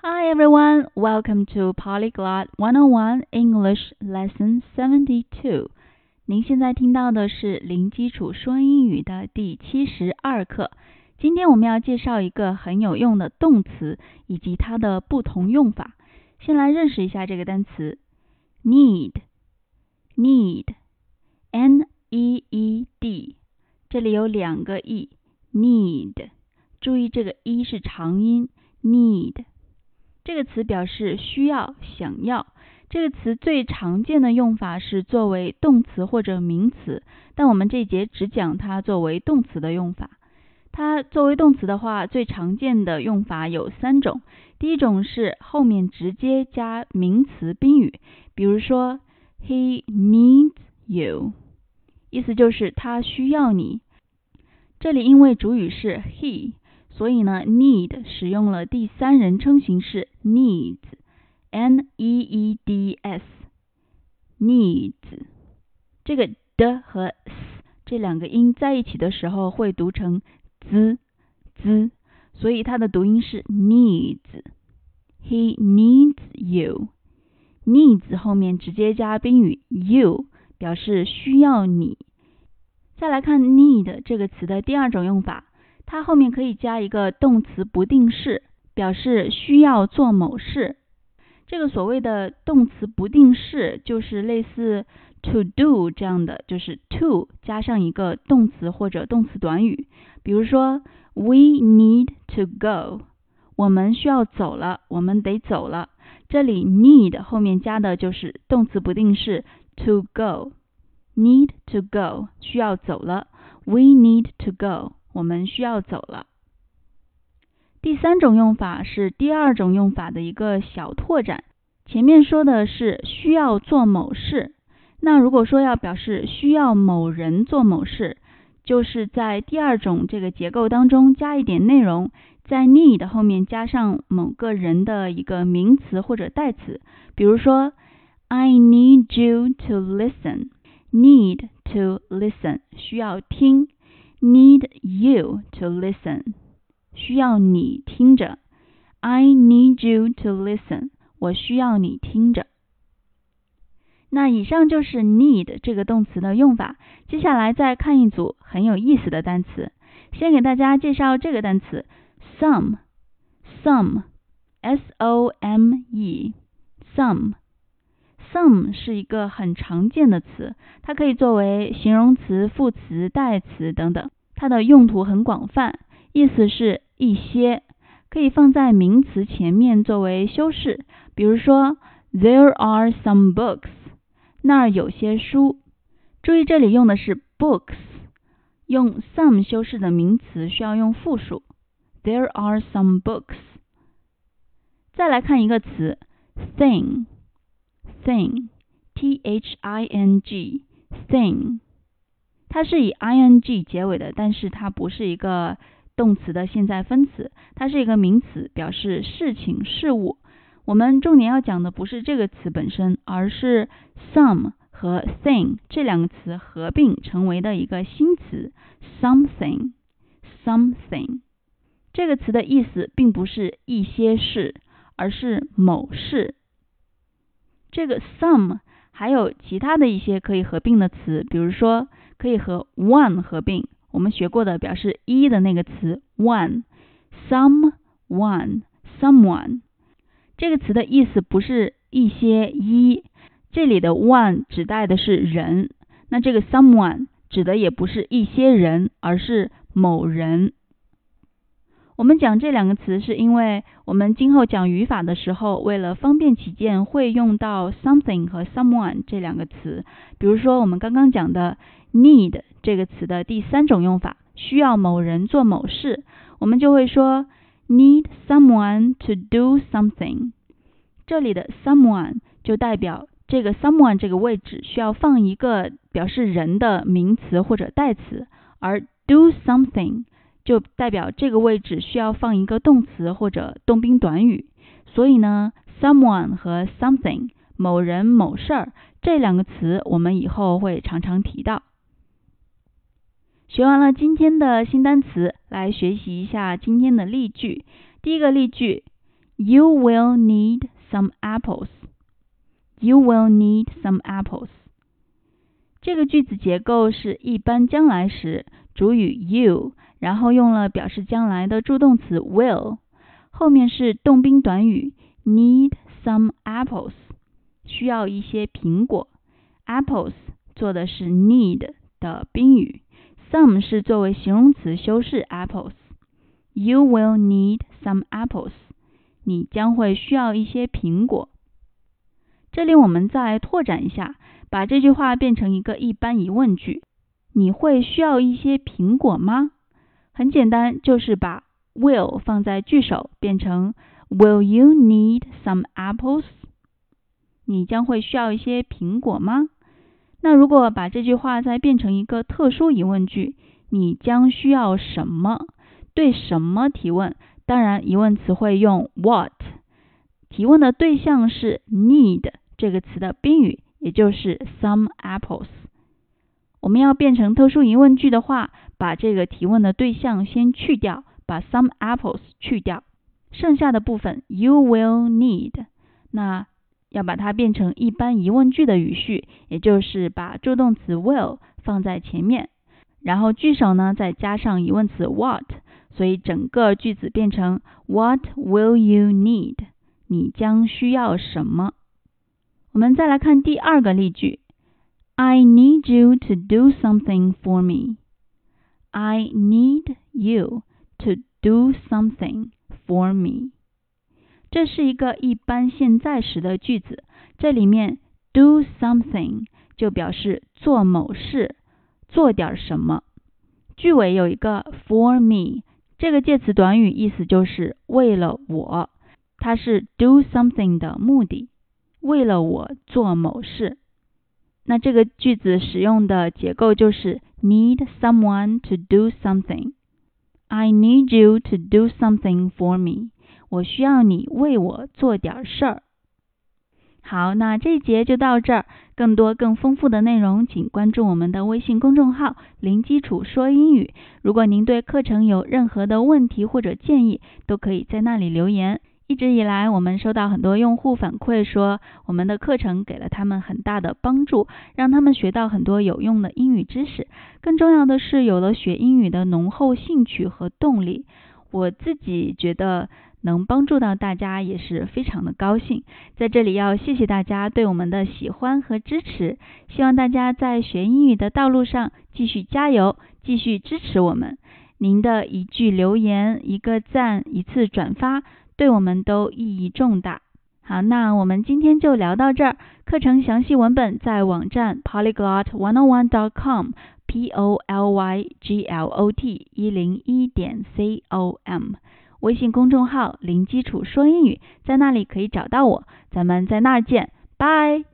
Hi everyone, welcome to Polyglot 101 English Lesson 72. 您现在听到的是零基础说英语的第72课。今天我们要介绍一个很有用的动词以及它的不同用法。先来认识一下这个单词 need, N-E-E-D， 这里有两个 E, need， 注意这个 E 是长音 need。这个词表示需要、想要。这个词最常见的用法是作为动词或者名词，但我们这一节只讲它作为动词的用法。它作为动词的话，最常见的用法有三种。第一种是后面直接加名词宾语，比如说 He needs you， 意思就是他需要你。这里因为主语是 he，所以呢 need 使用了第三人称形式 needs, N-E-E-D-S, needs。 这个的和 s 这两个音在一起的时候会读成 z， 所以它的读音是 needs。 He needs you， needs 后面直接加宾语 you， 表示需要你。再来看 need 这个词的第二种用法，它后面可以加一个动词不定式，表示需要做某事。这个所谓的动词不定式就是类似 to do 这样的，就是 to 加上一个动词或者动词短语。比如说 We need to go， 我们需要走了，我们得走了。这里 need 后面加的就是动词不定式 to go， need to go 需要走了， We need to go我们需要走了。第三种用法是第二种用法的一个小拓展。前面说的是需要做某事，那如果说要表示需要某人做某事，就是在第二种这个结构当中加一点内容，在 need 后面加上某个人的一个名词或者代词。比如说 I need you to listen， need to listen 需要听， need you to listen 需要你听着， I need you to listen 我需要你听着。那以上就是 need 这个动词的用法。接下来再看一组很有意思的单词。先给大家介绍这个单词 some S-O-M-E some 是一个很常见的词，它可以作为形容词、副词、代词等等，它的用途很广泛，意思是一些，可以放在名词前面作为修饰。比如说 There are some books， 那儿有些书。注意这里用的是 books， 用 some 修饰的名词需要用复数 There are some books。 再来看一个词 thing T-H-I-N-G thing， 它是以 ing 结尾的，但是它不是一个动词的现在分词，它是一个名词，表示事情、事物。我们重点要讲的不是这个词本身，而是 some 和 thing 这两个词合并成为的一个新词 something。 这个词的意思并不是一些事，而是某事。这个 some 还有其他的一些可以合并的词，比如说可以和 one 合并，我们学过的表示一的那个词 one， someone。 这个词的意思不是一些一，这里的 one 指代的是人，那这个 someone 指的也不是一些人，而是某人。我们讲这两个词是因为我们今后讲语法的时候，为了方便起见会用到 something 和 someone 这两个词。比如说我们刚刚讲的 need 这个词的第三种用法，需要某人做某事，我们就会说 need someone to do something。 这里的 someone 就代表这个 someone 这个位置需要放一个表示人的名词或者代词，而 do something 就代表这个位置需要放一个动词或者动宾短语。所以呢 someone 和 something 某人某事儿这两个词我们以后会常常提到。学完了今天的新单词，来学习一下今天的例句。第一个例句 You will need some apples. You will need some apples. 这个句子结构是一般将来时，主语 you， 然后用了表示将来的助动词 will， 后面是动宾短语 need some apples， 需要一些苹果。apples 做的是 need 的宾语， some 是作为形容词修饰 apples。 You will need some apples， 你将会需要一些苹果。这里我们再拓展一下，把这句话变成一个一般疑问句，你会需要一些苹果吗？很简单，就是把 will 放在句首，变成 Will you need some apples？ 你将会需要一些苹果吗？那如果把这句话再变成一个特殊疑问句，你将需要什么？对什么提问？当然疑问词汇用 what， 提问的对象是 need 这个词的宾语，也就是 some apples。 我们要变成特殊疑问句的话，把这个提问的对象先去掉，把 some apples 去掉，剩下的部分 you will need， 那要把它变成一般疑问句的语序，也就是把助动词 will 放在前面，然后句首呢再加上疑问词 what， 所以整个句子变成 What will you need？ 你将需要什么？我们再来看第二个例句， I need you to do something for me. I need you to do something for me. 这是一个一般现在时的句子，这里面 do something 就表示做某事，做点什么。句尾有一个 for me， 这个介词短语意思就是为了我，它是 do something 的目的，为了我做某事。那这个句子使用的结构就是 need someone to do something. I need you to do something for me. 我需要你为我做点事儿。好，那这一节就到这儿，更多更丰富的内容请关注我们的微信公众号零基础说英语。如果您对课程有任何的问题或者建议，都可以在那里留言。一直以来我们收到很多用户反馈说，我们的课程给了他们很大的帮助，让他们学到很多有用的英语知识，更重要的是有了学英语的浓厚兴趣和动力。我自己觉得能帮助到大家也是非常的高兴，在这里要谢谢大家对我们的喜欢和支持，希望大家在学英语的道路上继续加油，继续支持我们。您的一句留言、一个赞、一次转发，对我们都意义重大。好，那我们今天就聊到这儿，课程详细文本在网站 polyglot101.com polyglot101.com， 微信公众号零基础说英语，在那里可以找到我，咱们在那儿见，拜。